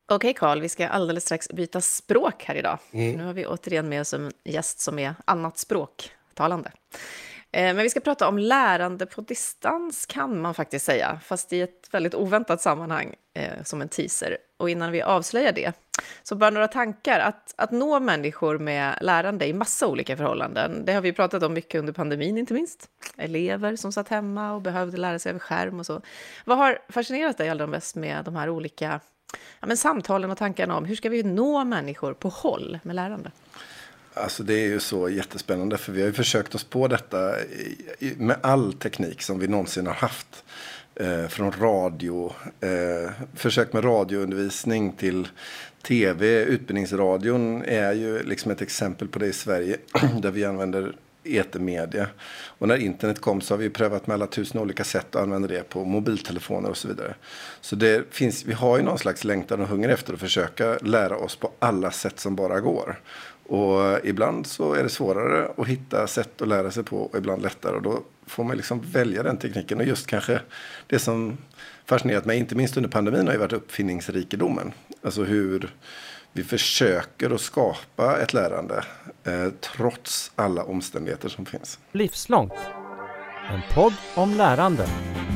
Okej Carl, vi ska alldeles strax byta språk här idag. Nu har vi återigen med oss en gäst som är annat språktalande. Men vi ska prata om lärande på distans kan man faktiskt säga, fast i ett väldigt oväntat sammanhang som en teaser. Och innan vi avslöjar det, så bara några tankar. Att nå människor med lärande i massa olika förhållanden, det har vi pratat om mycket under pandemin inte minst. Elever som satt hemma och behövde lära sig över skärm och så. Vad har fascinerat dig allra mest med de här olika samtalen och tankarna om hur ska vi nå människor på håll med lärande? Alltså det är ju så jättespännande för vi har ju försökt oss på detta med all teknik som vi någonsin har haft. Från radio, försök med radioundervisning till tv. Utbildningsradion är ju liksom ett exempel på det i Sverige där vi använder etermedia. Och när internet kom så har vi prövat med alla tusen olika sätt att använda det på mobiltelefoner och så vidare. Så vi har ju någon slags längtan och hunger efter att försöka lära oss på alla sätt som bara går. Och ibland så är det svårare att hitta sätt att lära sig på och ibland lättare. Och då får man liksom välja den tekniken. Och just kanske det som fascinerat mig, inte minst under pandemin, har ju varit uppfinningsrikedomen. Alltså hur vi försöker att skapa ett lärande trots alla omständigheter som finns. Livslångt. En podd om lärande.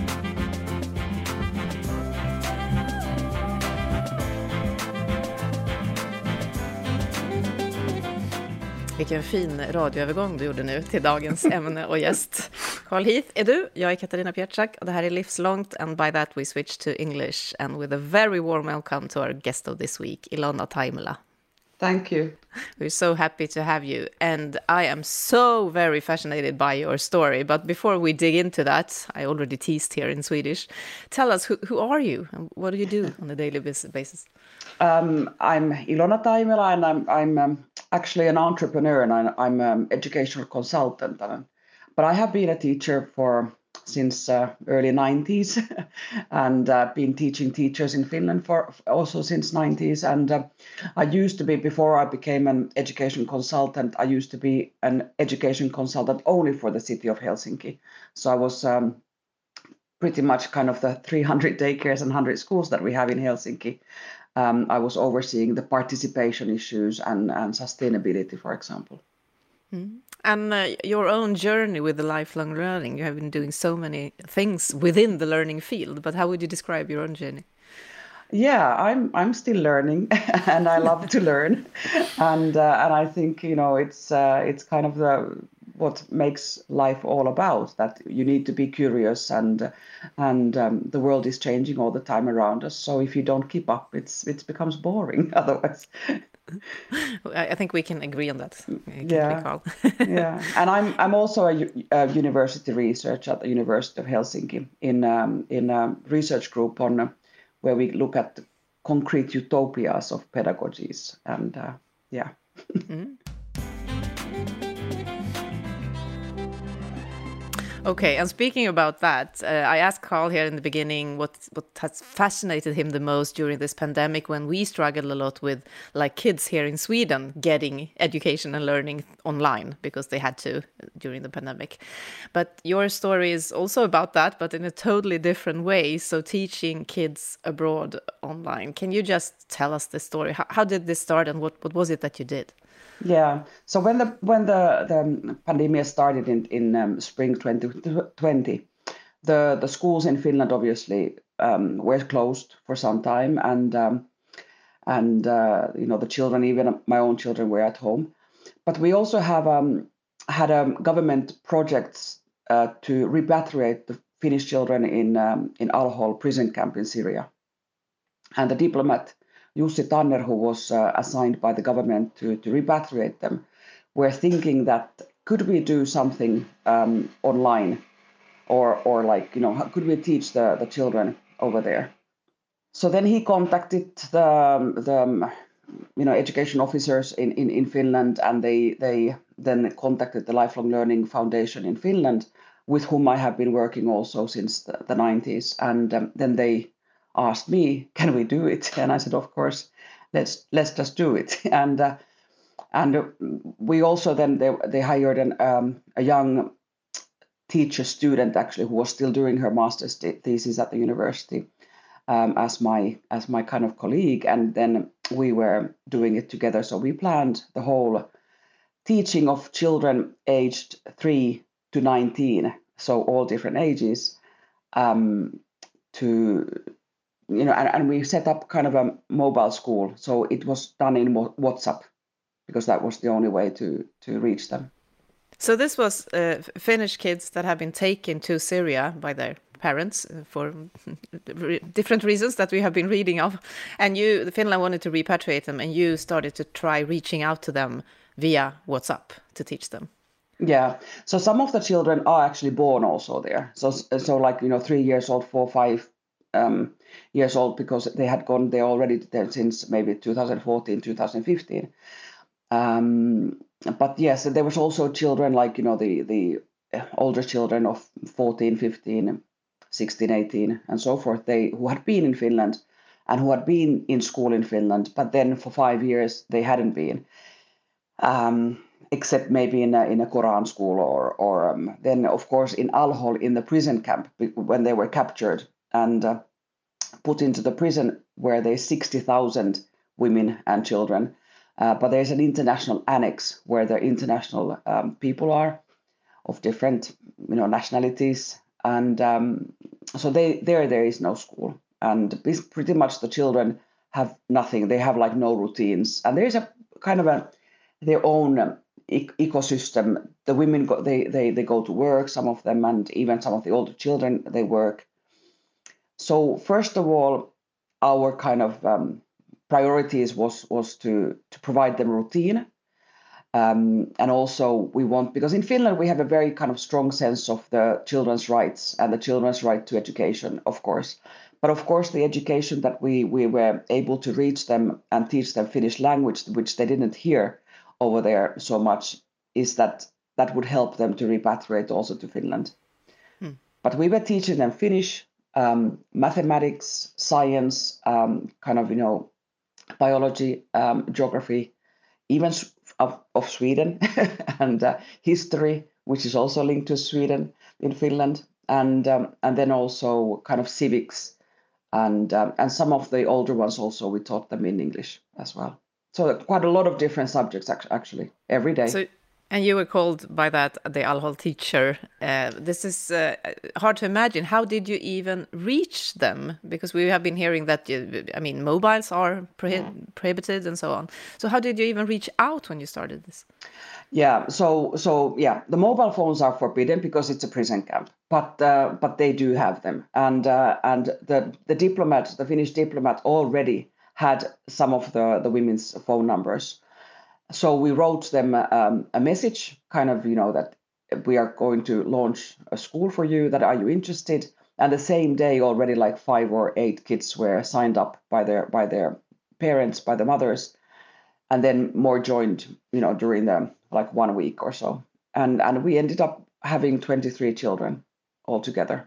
Vilken fin radioövergång du gjorde nu till dagens ämne och gäst. Carl Heath är du, jag är Katarina Pietschak och det här är Livslångt, and by that we switch to English and with a very warm welcome to our guest of this week, Ilona Taimela. Thank you. We're so happy to have you, and I am so very fascinated by your story. But before we dig into that, I already teased here in Swedish. Tell us, who are you and what do you do on a daily basis? I'm Ilona Taimela, and I'm actually an entrepreneur, and I'm an educational consultant. But I have been a teacher since early 90s and been teaching teachers in Finland for also since 90s. And I used to be, before I became an education consultant, I used to be an education consultant only for the city of Helsinki. So I was pretty much kind of the 300 daycares and 100 schools that we have in Helsinki. I was overseeing the participation issues and sustainability, for example. Mm. And your own journey with the lifelong learning, you have been doing so many things within the learning field, but how would you describe your own journey? Yeah, I'm still learning, and I love to learn, and I think it's kind of what makes life all about, that you need to be curious, and the world is changing all the time around us. So if you don't keep up, it becomes boring otherwise. I think we can agree on that. Yeah, yeah. And I'm also a university researcher at the University of Helsinki in a research group on where we look at concrete utopias of pedagogies, and yeah. Mm. Okay, and speaking about that, I asked Carl here in the beginning what has fascinated him the most during this pandemic, when we struggled a lot with, like, kids here in Sweden getting education and learning online because they had to during the pandemic. But your story is also about that, but in a totally different way. So teaching kids abroad online. Can you just tell us the story? How did this start, and what was it that you did? Yeah. So when the pandemic started in spring 2020, the schools in Finland obviously were closed for some time, and the children, even my own children, were at home. But we also have had government projects to repatriate the Finnish children in Al-Hol prison camp in Syria, and the diplomat Jussi Tanner, who was assigned by the government to repatriate them, were thinking that could we do something online, or could we teach the children over there? So then he contacted the education officers in Finland, and they then contacted the Lifelong Learning Foundation in Finland, with whom I have been working also since the 90s, and then they asked me, can we do it? And I said, of course, let's just do it. And we also then they hired a young teacher student, actually, who was still doing her master's thesis at the university, as my kind of colleague, and then we were doing it together. So we planned the whole teaching of children aged 3 to 19, so all different ages, to and we set up kind of a mobile school. So it was done in WhatsApp because that was the only way to reach them. So this was Finnish kids that have been taken to Syria by their parents for different reasons that we have been reading of. And Finland wanted to repatriate them, and you started to try reaching out to them via WhatsApp to teach them. Yeah. So some of the children are actually born also there. So like, 3 years old, 4, 5 years old, because they had gone there already since maybe 2014, 2015. But yes, there was also children like, the older children of 14, 15, 16, 18, and so forth, who had been in Finland and who had been in school in Finland, but then for 5 years they hadn't been, except maybe in a Quran school or then, of course, in Al-Hol, in the prison camp, when they were captured and put into the prison where there's 60,000 women and children. But there's an international annex where the international people are of different, nationalities, and so there is no school, and pretty much the children have nothing. They have like no routines, and there's a kind of their own ecosystem. The women they go to work, some of them, and even some of the older children, they work. So first of all, our kind of priorities was to provide them routine, and also we want, because in Finland we have a very kind of strong sense of the children's rights and the children's right to education, of course. But of course, the education that we were able to reach them and teach them Finnish language, which they didn't hear over there so much, is that would help them to repatriate also to Finland. But we were teaching them Finnish, mathematics, science, kind of, biology, geography, even of Sweden, and history, which is also linked to Sweden in Finland, and then also kind of civics, and some of the older ones also we taught them in English as well. So quite a lot of different subjects actually every day. So, and you were called by that the Al-Hol teacher. This is hard to imagine. How did you even reach them? Because we have been hearing that, mobiles are prohibited and so on. So how did you even reach out when you started this? Yeah, so the mobile phones are forbidden because it's a prison camp, but they do have them, and the diplomat, the Finnish diplomat, already had some of the women's phone numbers. So we wrote them a message, kind of, that we are going to launch a school for you. That, are you interested? And the same day, already like 5 or 8 kids were signed up by their parents, by the mothers, and then more joined, during the like 1 week or so, and we ended up having 23 children altogether.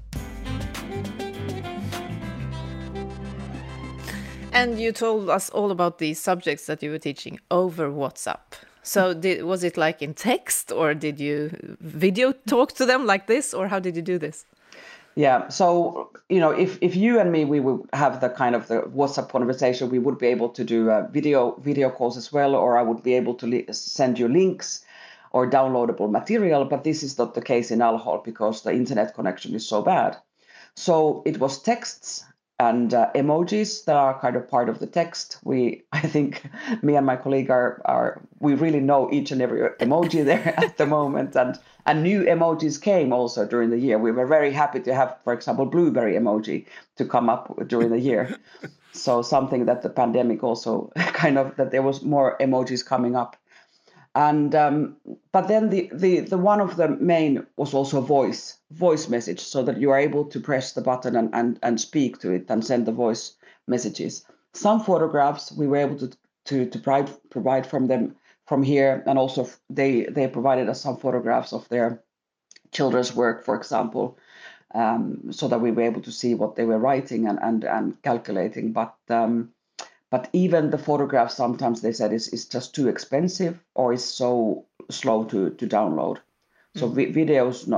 And you told us all about these subjects that you were teaching over WhatsApp. So was it like in text, or did you video talk to them like this, or how did you do this? Yeah, so if you and me, we would have the kind of the WhatsApp conversation, we would be able to do video calls as well, or I would be able to send you links or downloadable material. But this is not the case in Al-Hol because the internet connection is so bad. So it was texts and emojis that are kind of part of the text. I think me and my colleague we really know each and every emoji there at the moment, and new emojis came also during the year. We were very happy to have, for example, blueberry emoji to come up during the year. So something that the pandemic also kind of, that there was more emojis coming up. And but then the one of the main was also voice message, so that you are able to press the button and speak to it and send the voice messages. Some photographs we were able to provide from them from here, and also they provided us some photographs of their children's work, for example, so that we were able to see what they were writing and calculating. But even the photographs, sometimes they said is just too expensive or is so slow to download. So videos, no.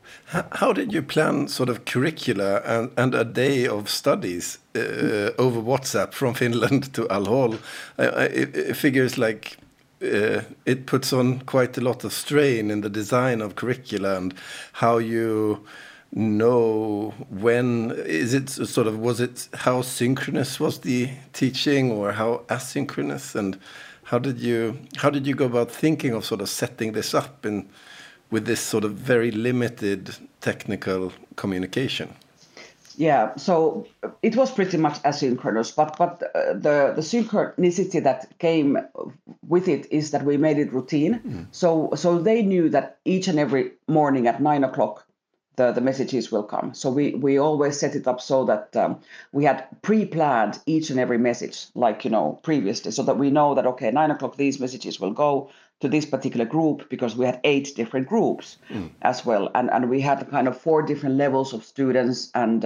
How did you plan sort of curricula and a day of studies over WhatsApp from Finland to Al-Hol? It figures like it puts on quite a lot of strain in the design of curricula and how you know when is it sort of, was it how synchronous was the teaching or how asynchronous, and how did you go about thinking of sort of setting this up in with this sort of very limited technical communication? Yeah, so it was pretty much asynchronous, but the synchronicity that came with it is that we made it routine. So they knew that each and every morning at 9:00 the messages will come. So we always set it up so that we had pre-planned each and every message, like, previously, so that we know that, okay, 9:00 these messages will go to this particular group, because we had 8 different groups as well. And we had kind of 4 different levels of students, and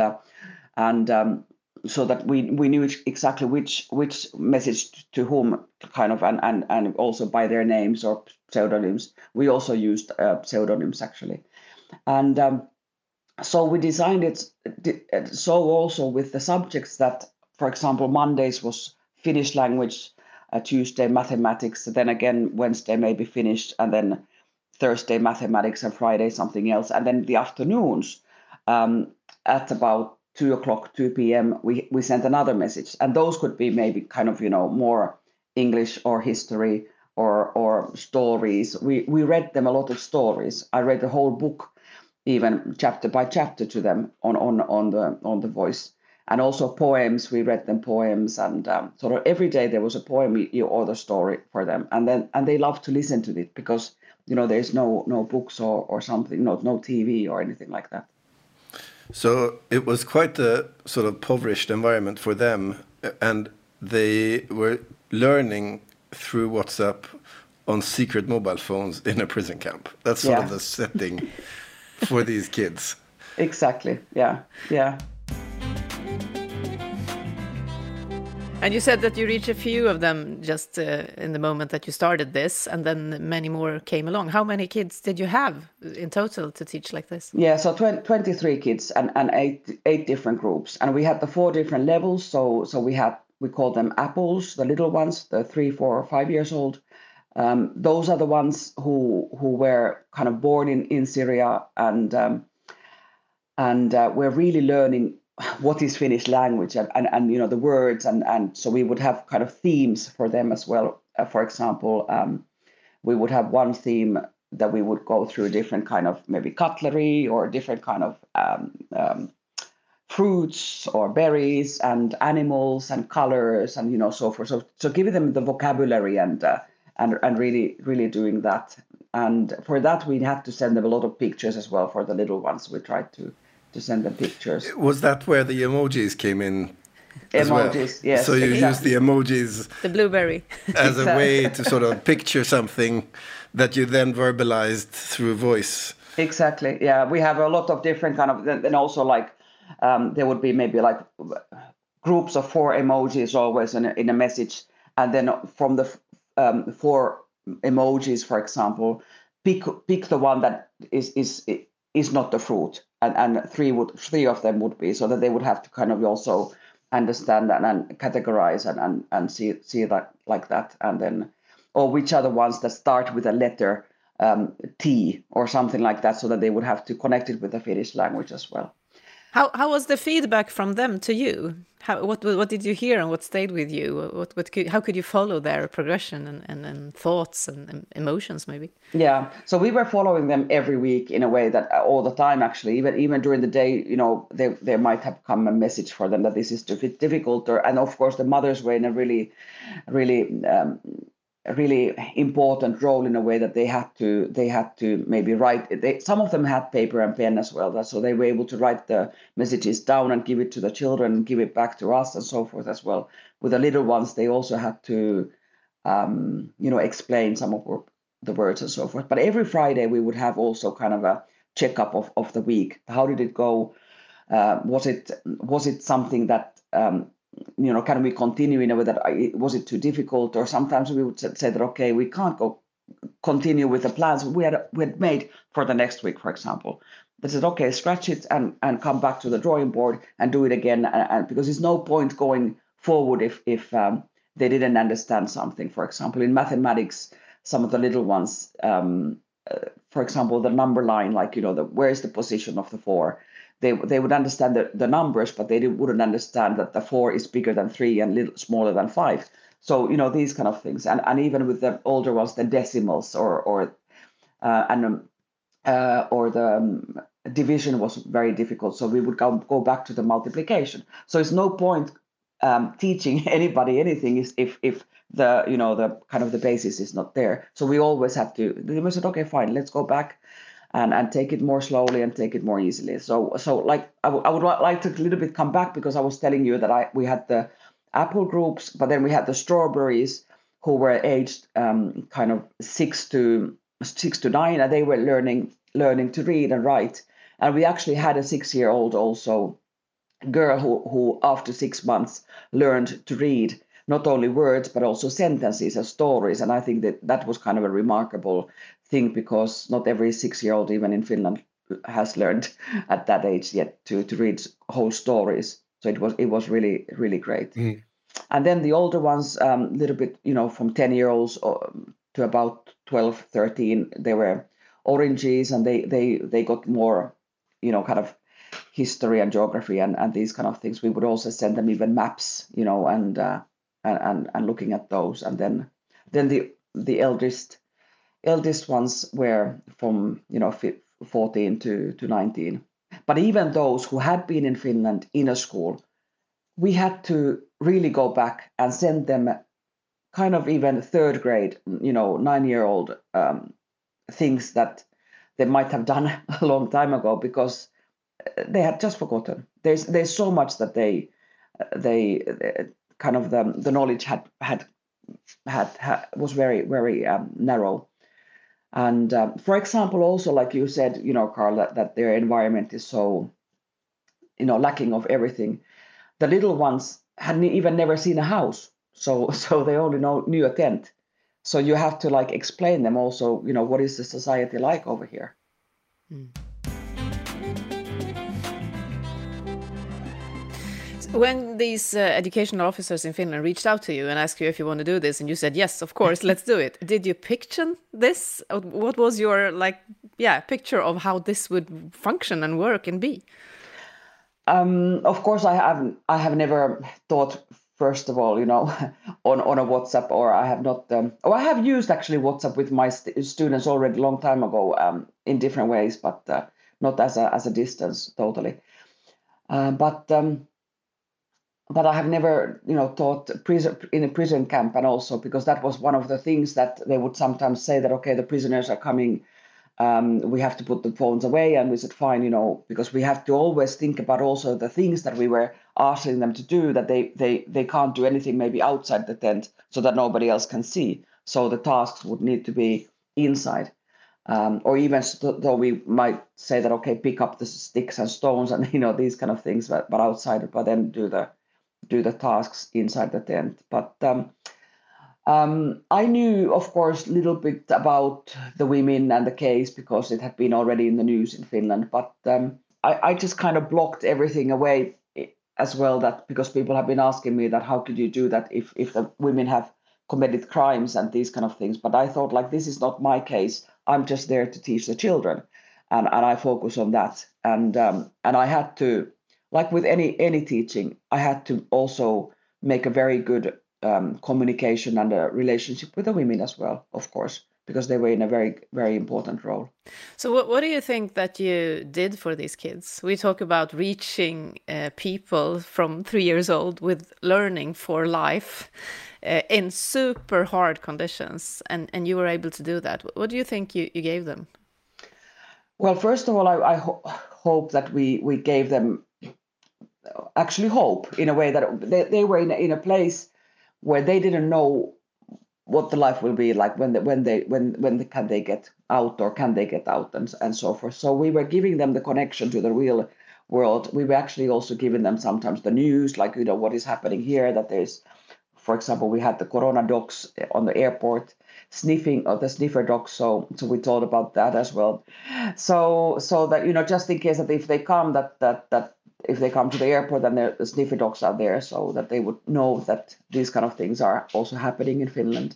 so that we knew exactly which message to whom, kind of, and also by their names or pseudonyms. We also used pseudonyms, actually. And so we designed it so also with the subjects that, for example, Mondays was Finnish language, Tuesday mathematics, then again Wednesday maybe Finnish, and then Thursday mathematics, and Friday something else. And then the afternoons, at about 2 p.m, we sent another message, and those could be maybe kind of more English or history or stories. We read them a lot of stories. I read the whole book, even chapter by chapter, to them on the voice. And also poems, we read them poems, and sort of every day there was a poem or the story for them, and they love to listen to it, because there's no books or something, no TV or anything like that. So it was quite a sort of impoverished environment for them, and they were learning through WhatsApp on secret mobile phones in a prison camp. That's sort of the setting for these kids. Exactly. Yeah. And you said that you reached a few of them just in the moment that you started this, and then many more came along. How many kids did you have in total to teach like this? Yeah, so 23 kids and 8 different groups. And we had the 4 different levels. So we call them apples, the little ones, the 3, 4, or 5 years old. Those are the ones who were kind of born in Syria and were really learning what is Finnish language and the words, and so we would have kind of themes for them as well. For example, we would have one theme that we would go through different kind of maybe cutlery or different kind of fruits or berries and animals and colors and so forth. So giving them the vocabulary and really doing that. And for that we had to send them a lot of pictures as well. For the little ones, we tried to send them pictures. Was that where the emojis came in? Emojis, well? Yes. So you use the emojis, the blueberry, as a way to sort of picture something that you then verbalized through voice. Exactly. Yeah, we have a lot of different kind of. Then also like there would be maybe like groups of 4 emojis always in a message, and then from the 4 emojis, for example, pick the one that is not the fruit, and 3 of them would be, so that they would have to kind of also understand and categorize and see that like that, and then or which are the ones that start with a letter T or something like that, so that they would have to connect it with the Finnish language as well. How was the feedback from them to you? What did you hear and what stayed with you? How could you follow their progression and thoughts and emotions maybe? Yeah, so we were following them every week in a way that all the time, actually, even during the day, there might have come a message for them that this is difficult, and of course the mothers were in a really really important role in a way that they had to maybe write. Some of them had paper and pen as well, so they were able to write the messages down and give it to the children and give it back to us and so forth as well. With the little ones, they also had to explain some of the words and so forth. But every Friday we would have also kind of a checkup of the week. How did it go? Was it something that can we continue in a way that was it too difficult? Or sometimes we would say that, okay, we can't continue with the plans we had made for the next week, for example. They said, okay, scratch it and come back to the drawing board and do it again. And because there's no point going forward if they didn't understand something. For example, in mathematics, some of the little ones, for example, the number line, like, where's the position of the 4? They would understand the numbers, but they wouldn't understand that the 4 is bigger than 3 and little smaller than 5. So, these kind of things. And even with the older ones, the decimals or the division was very difficult. So we would go back to the multiplication. So it's no point teaching anybody anything if the the kind of the basis is not there. So we always have to. We said, okay, fine, let's go back and take it more slowly and take it more easily. So like I would like to a little bit come back, because I was telling you that we had the apple groups, but then we had the strawberries who were aged kind of 6 to 9, and they were learning to read and write. And we actually had a 6-year-old also girl who after 6 months learned to read not only words but also sentences and stories. And I think that was kind of a remarkable thing, because not every 6-year-old even in Finland has learned at that age yet to read whole stories. So it was really, really great. Mm. And then the older ones, little bit, from 10-year-olds to about 12, 13, they were oranges, and they got more, kind of history and geography and these kind of things. We would also send them even maps, and looking at those. And then the eldest ones were from 14 to 19. But even those who had been in Finland in a school, we had to really go back and send them kind of even 3rd grade, 9-year-old things that they might have done a long time ago, because they had just forgotten. There's so much that they kind of the knowledge had was very, very narrow. And for example, also like you said, Carl, that their environment is so lacking of everything. The little ones hadn't even never seen a house, so they only knew a tent. So you have to like explain them also, what is the society like over here. Mm. When these educational officers in Finland reached out to you and asked you if you want to do this, and you said, yes, of course, let's do it. Did you picture this? What was your picture of how this would function and work and be? Of course, I have never thought, first of all, on a WhatsApp, or I have not. I have used actually WhatsApp with my students already a long time ago in different ways, but not as a distance totally. But I have never, taught in a prison camp, and also because that was one of the things that they would sometimes say that, okay, the prisoners are coming, we have to put the phones away, and we said fine, because we have to always think about also the things that we were asking them to do, that they can't do anything maybe outside the tent so that nobody else can see. So the tasks would need to be inside. Or even though we might say that, okay, pick up the sticks and stones and these kind of things, but outside, but then do the tasks inside the tent. But I knew, of course, a little bit about the women and the case because it had been already in the news in Finland. But I just kind of blocked everything away as well, that because people have been asking me that how could you do that if the women have committed crimes and these kind of things. But I thought, like, this is not my case. I'm just there to teach the children, and I focus on that. And I had to, like with any teaching, I had to also make a very good communication and a relationship with the women as well, of course, because they were in a very, very important role. So what do you think that you did for these kids? We talk about reaching people from 3 years old with learning for life in super hard conditions, and you were able to do that. What do you think you gave them? Well, first of all, I hope that we gave them actually hope, in a way that they were in a place where they didn't know what the life will be like when can they get out, or can they get out, and so forth. So we were giving them the connection to the real world. We were actually also giving them sometimes the news, like, what is happening here, that there's, for example, we had the corona docs on the airport sniffing of the sniffer dogs. So we thought about that as well. So that just in case that if they come that if they come to the airport and the sniffer dogs are there, so that they would know that these kind of things are also happening in Finland.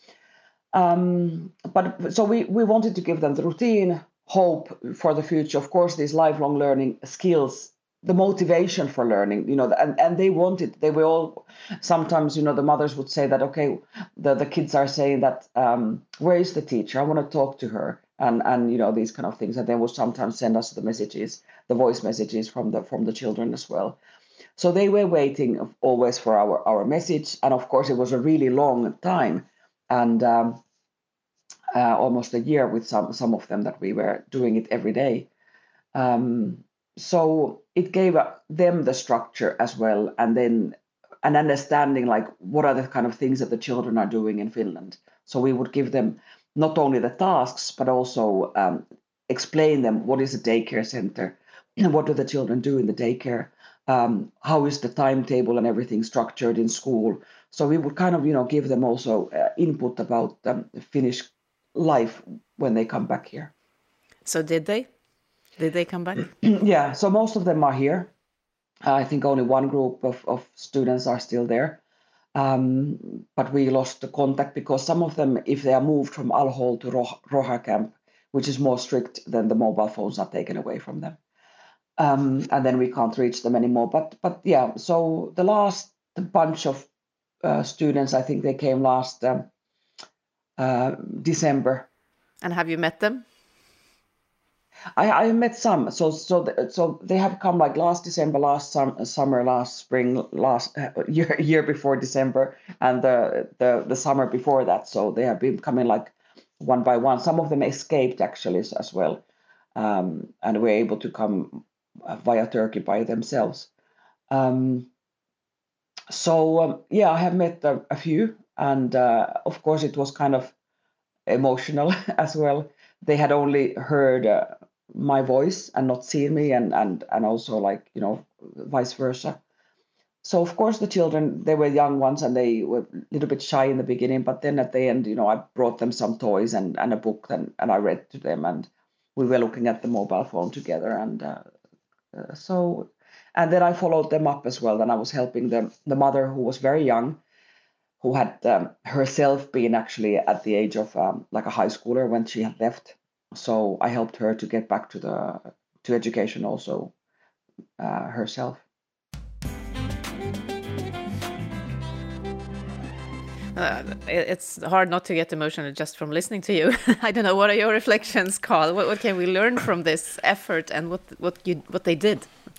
But so we wanted to give them the routine, hope for the future. Of course, these lifelong learning skills, the motivation for learning, and they wanted. They were all sometimes, the mothers would say that, okay, the kids are saying that, where is the teacher? I want to talk to her, and these kind of things. And they would sometimes send us the messages, the voice messages from the children as well. So they were waiting always for our message, and of course, it was a really long time, and almost a year with some of them that we were doing it every day. So it gave them the structure as well, and then an understanding like what are the kind of things that the children are doing in Finland. So we would give them not only the tasks, but also explain them what is a daycare center, what do the children do in the daycare, how is the timetable and everything structured in school. So we would kind of give them also input about Finnish life when they come back here. So did they come back? Yeah, so most of them are here. I think only one group of students are still there, but we lost the contact because some of them, if they are moved from Al-Hol to Roha camp, which is more strict, then the mobile phones are taken away from them, and then we can't reach them anymore. But yeah, so the last bunch of students, I think they came last December. And have you met them? I met some. So they have come like last December, last summer, last spring, last year before December, and the summer before that. So they have been coming like one by one. Some of them escaped actually as well, and were able to come via Turkey by themselves. Yeah, I have met a few, and of course it was kind of emotional as well. They had only heard my voice and not seen me, and also like vice versa. So of course the children, they were young ones and they were a little bit shy in the beginning, but then at the end, I brought them some toys and a book, and I read to them, and we were looking at the mobile phone together, and and then I followed them up as well. And I was helping the mother, who was very young, who had herself been actually at the age of like a high schooler when she had left. So I helped her to get back to education also herself. It's hard not to get emotional just from listening to you. I don't know, what are your reflections, Carl? What can we learn from this effort and what they did?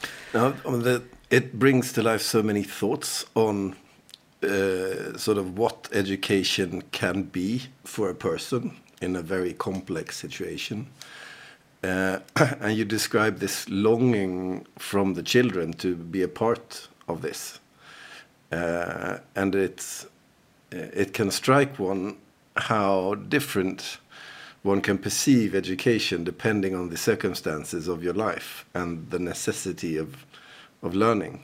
It brings to life so many thoughts on sort of what education can be for a person in a very complex situation. And you describe this longing from the children to be a part of this. And it can strike one how different one can perceive education depending on the circumstances of your life and the necessity of learning.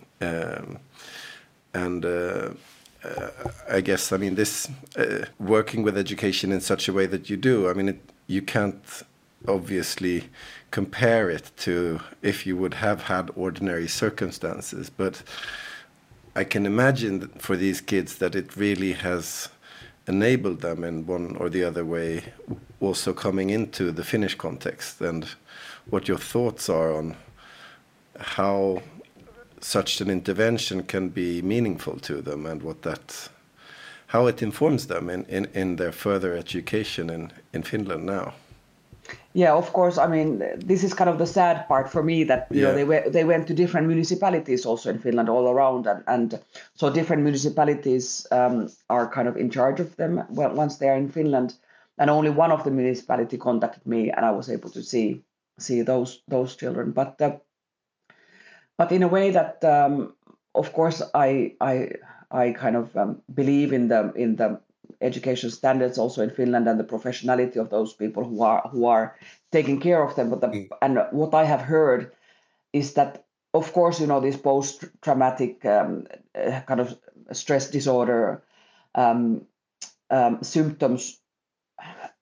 I guess, this working with education in such a way that you do, you can't obviously compare it to if you would have had ordinary circumstances, but I can imagine that for these kids that it really has enabled them in one or the other way also coming into the Finnish context, and what your thoughts are on how such an intervention can be meaningful to them, and how it informs them in their further education in Finland now. Yeah, of course. This is kind of the sad part for me that they went to different municipalities also in Finland all around, and so different municipalities are kind of in charge of them once they are in Finland, and only one of the municipality contacted me, and I was able to see those children. But in a way that, of course, I kind of believe in the education standards also in Finland and the professionality of those people who are taking care of them. And what I have heard is that, of course, these post-traumatic kind of stress disorder symptoms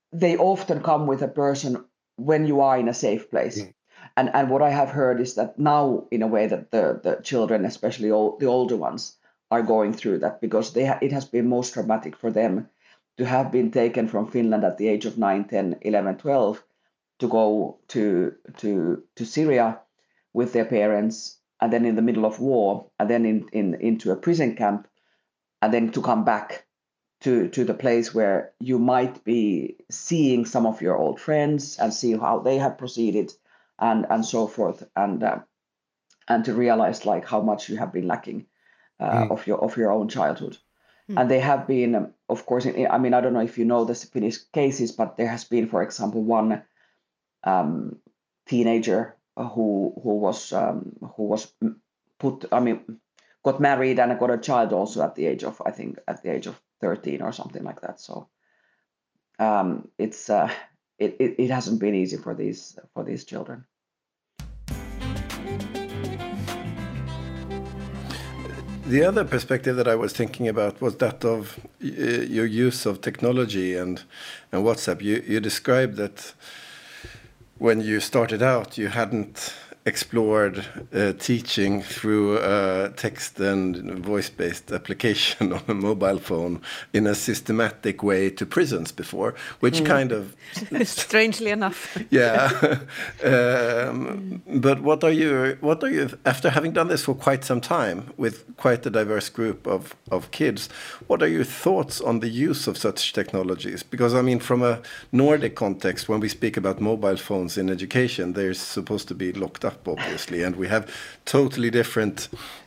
they often come with a person when you are in a safe place. And what I have heard is that now, in a way, that the children, especially the older ones, are going through that, because it has been most traumatic for them to have been taken from Finland at the age of 9, 10, 11, 12 to go to Syria with their parents, and then in the middle of war, and then into a prison camp, and then to come back to the place where you might be seeing some of your old friends and see how they have proceeded, and so forth, and to realize like how much you have been lacking of your own childhood. And they have been, of course, I mean, I don't know if you know the Finnish cases, but there has been, for example, one teenager who was got married and got a child also at the age of 13 or something like that. So it hasn't been easy for these children. The other perspective that I was thinking about was that of your use of technology and WhatsApp. You described that when you started out, you hadn't explored teaching through a text and voice-based application on a mobile phone in a systematic way to prisons before, which kind of... Strangely enough. Yeah. But what are you, after having done this for quite some time with quite a diverse group of kids, what are your thoughts on the use of such technologies? Because, I mean, from a Nordic context, when we speak about mobile phones in education, they're supposed to be locked up, obviously, and we have totally different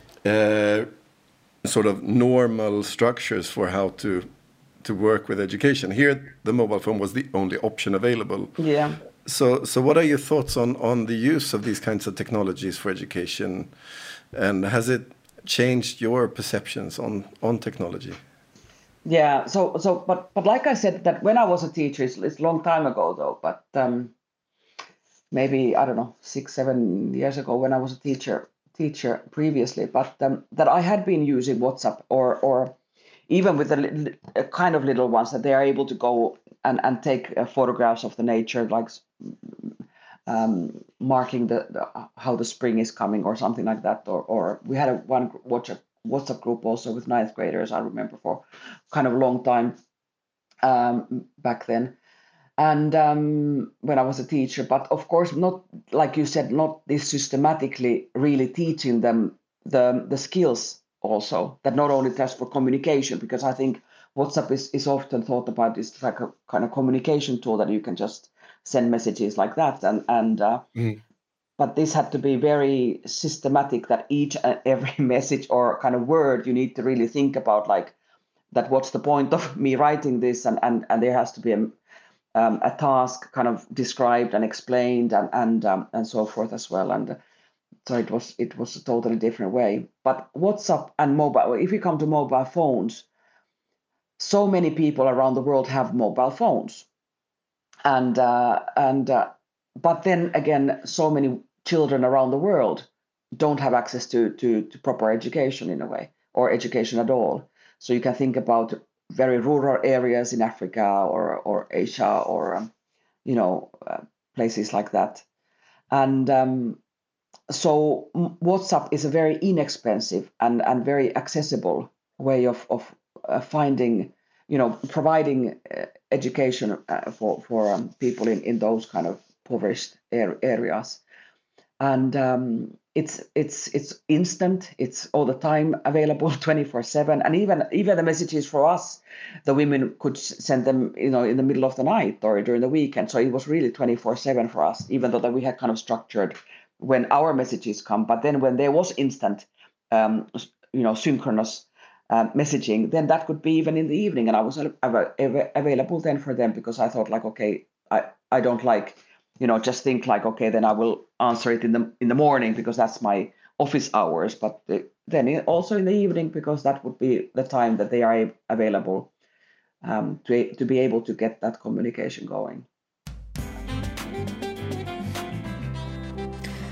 sort of normal structures for how to work with education. Here, the mobile phone was the only option available. Yeah. So what are your thoughts on the use of these kinds of technologies for education, and has it changed your perceptions on technology? Yeah. But like I said, that when I was a teacher, it's a long time ago though, but maybe, I don't know, 6-7 years ago when I was a teacher previously, but that I had been using WhatsApp or even with the kind of little ones that they are able to go and take photographs of the nature, like marking how the spring is coming or something like that. Or we had one WhatsApp group also with 9th graders, I remember, for kind of a long time back then. And when I was a teacher, but of course not, like you said, not this systematically really teaching them the skills also, that not only just for communication, because I think WhatsApp is often thought about as like a kind of communication tool that you can just send messages like that, but this had to be very systematic, that each and every message or kind of word you need to really think about, like that what's the point of me writing this, and there has to be a task kind of described and explained and so forth as well. And so it was a totally different way. But WhatsApp and mobile, if you come to mobile phones, so many people around the world have mobile phones, but then again, so many children around the world don't have access to proper education in a way, or education at all. So you can think about very rural areas in Africa or Asia or places like that. And so WhatsApp is a very inexpensive and very accessible way of finding, providing education for people in those kind of impoverished areas. And it's instant. It's all the time available, 24/7, and even the messages for us, the women could send them, in the middle of the night or during the weekend. So it was really 24/7 for us, even though that we had kind of structured when our messages come. But then when there was instant, synchronous messaging, then that could be even in the evening, and I was available then for them, because I thought like, okay, I don't like, just think like, okay, then I will answer it in the morning because that's my office hours, but then also in the evening, because that would be the time that they are available to be able to get that communication going.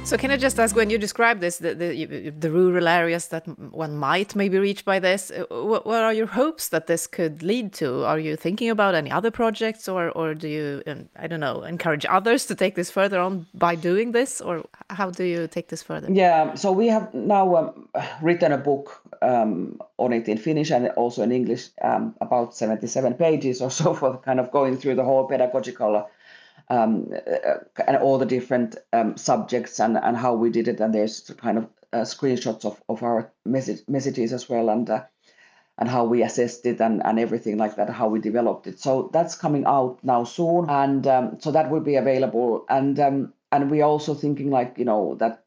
So can I just ask, when you describe this, the rural areas that one might maybe reach by this, what are your hopes that this could lead to? Are you thinking about any other projects, or do you, I don't know, encourage others to take this further on by doing this, or how do you take this further? Yeah, so we have now written a book on it in Finnish and also in English, about 77 pages or so, for kind of going through the whole pedagogical and all the different subjects and how we did it, and there's kind of screenshots of our messages as well, and how we assessed it and everything like that, how we developed it. So that's coming out now soon, and so that will be available. And we're also thinking, like, you know, that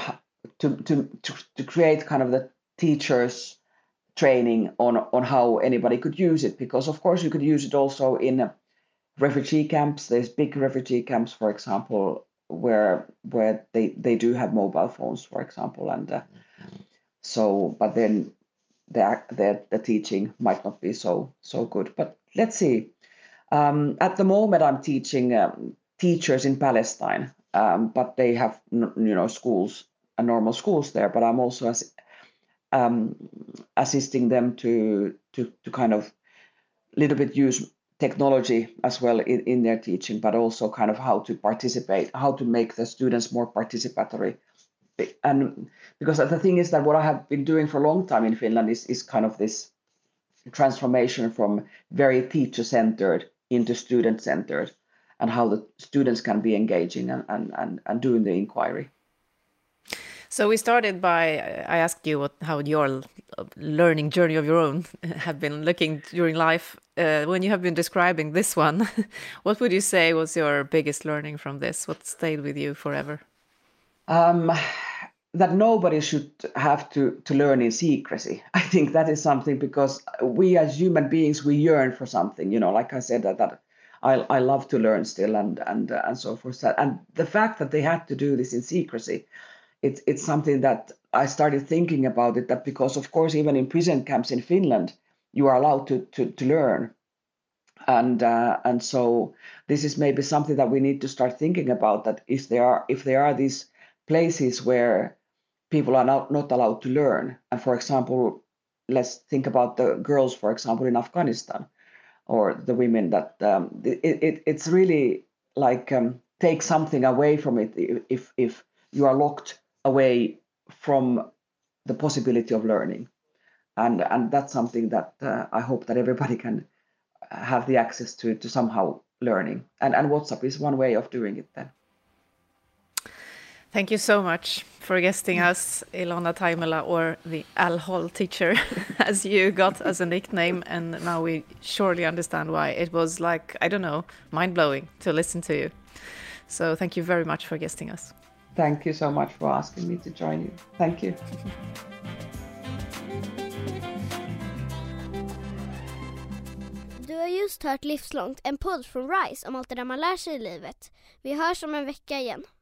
to create kind of the teachers training on how anybody could use it, because of course you could use it also in refugee camps. There's big refugee camps, for example, where they do have mobile phones, for example, and so, but then the teaching might not be so good. But let's see. At the moment, I'm teaching teachers in Palestine, but they have schools and normal schools there. But I'm also assisting them to kind of little bit use technology as well in their teaching, but also kind of how to participate, how to make the students more participatory. And because the thing is that what I have been doing for a long time in Finland is kind of this transformation from very teacher-centered into student-centered, and how the students can be engaging and doing the inquiry. So we started by, I asked you how your learning journey of your own have been looking during life. When you have been describing this one, what would you say was your biggest learning from this? What stayed with you forever? That nobody should have to learn in secrecy. I think that is something, because we as human beings, we yearn for something, like I said, that I love to learn still and so forth. And the fact that they had to do this in secrecy, it's something that I started thinking about it, that because of course even in prison camps in Finland you are allowed to learn, and so this is maybe something that we need to start thinking about, that if there are these places where people are not allowed to learn, and for example, let's think about the girls, for example, in Afghanistan, or the women, that it's really like take something away from it if you are locked away from the possibility of learning, and that's something that I hope that everybody can have the access to somehow learning, and WhatsApp is one way of doing it then. Thank you so much for guesting us, Ilona Taimela, or the Al-Hol teacher, as you got as a nickname, and now we surely understand why. It was like, I don't know, mind-blowing to listen to you. So thank you very much for guesting us. Thank you so much for asking me to join you. Thank you. Du har just hört Livslångt, en podd från RISE om allt det där man lär sig i livet. Vi hörs om en vecka igen.